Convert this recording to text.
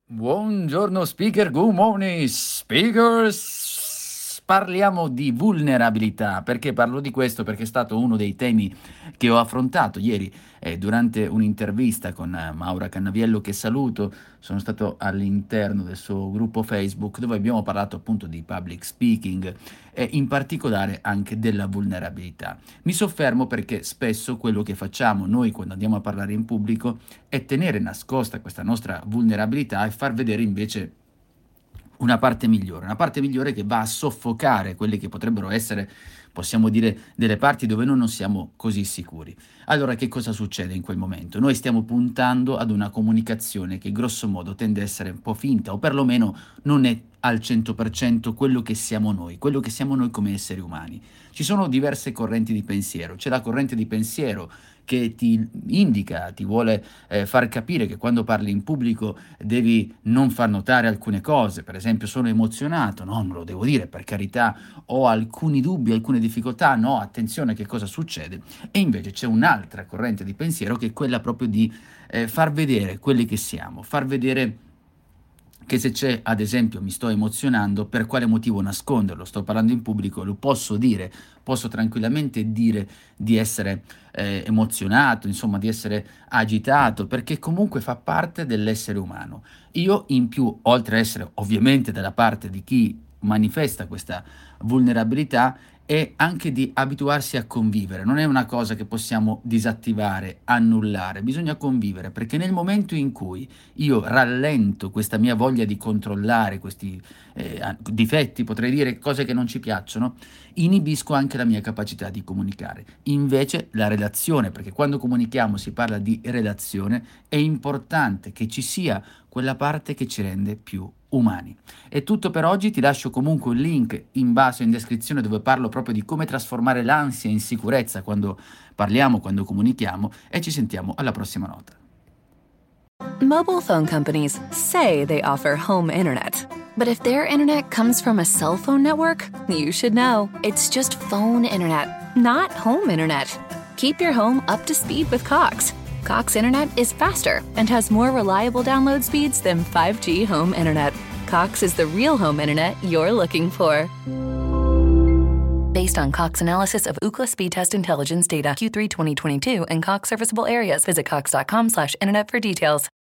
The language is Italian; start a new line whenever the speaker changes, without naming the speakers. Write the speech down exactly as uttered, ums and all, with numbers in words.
Buongiorno speaker, good morning speakers. Parliamo di vulnerabilità. Perché parlo di questo? Perché è stato uno dei temi che ho affrontato ieri eh, durante un'intervista con eh, Maura Cannaviello, che saluto. Sono stato all'interno del suo gruppo Facebook, dove abbiamo parlato appunto di public speaking e in particolare anche della vulnerabilità. Mi soffermo perché spesso quello che facciamo noi quando andiamo a parlare in pubblico è tenere nascosta questa nostra vulnerabilità e far vedere invece una parte migliore, una parte migliore che va a soffocare quelle che potrebbero essere, possiamo dire, delle parti dove noi non siamo così sicuri. Allora che cosa succede in quel momento? Noi stiamo puntando ad una comunicazione che grosso modo tende a essere un po' finta, o perlomeno non è al cento per cento quello che siamo noi, quello che siamo noi come esseri umani. Ci sono diverse correnti di pensiero. C'è la corrente di pensiero che ti indica, ti vuole eh, far capire che quando parli in pubblico devi non far notare alcune cose. Per esempio, sono emozionato, no, non lo devo dire, per carità, ho alcuni dubbi, alcune difficoltà, no, attenzione, che cosa succede. E invece c'è un'altra corrente di pensiero che è quella proprio di eh, far vedere quelli che siamo, far vedere che se c'è, ad esempio, mi sto emozionando, per quale motivo nasconderlo? Sto parlando in pubblico, lo posso dire, posso tranquillamente dire di essere eh, emozionato, insomma di essere agitato, perché comunque fa parte dell'essere umano. Io in più, oltre a essere ovviamente dalla parte di chi manifesta questa vulnerabilità, è anche di abituarsi a convivere. Non è una cosa che possiamo disattivare, annullare, bisogna convivere, perché nel momento in cui io rallento questa mia voglia di controllare questi eh, difetti, potrei dire cose che non ci piacciono, inibisco anche la mia capacità di comunicare. Invece la relazione, perché quando comunichiamo si parla di relazione, è importante che ci sia quella parte che ci rende più umani. È tutto per oggi, ti lascio comunque un link in basso in descrizione dove parlo proprio di come trasformare l'ansia in sicurezza quando parliamo, quando comunichiamo, e ci sentiamo alla prossima nota.
Mobile phone companies say they offer home internet. But if their internet comes from a cell phone network, you should know. It's just phone internet, not home internet. Keep your home up to speed with Cox. Cox Internet is faster and has more reliable download speeds than five G home internet. Cox is the real home internet you're looking for. Based on Cox analysis of Ookla speed test intelligence data Q three twenty twenty-two and Cox serviceable areas, visit cox dot com slash internet for details.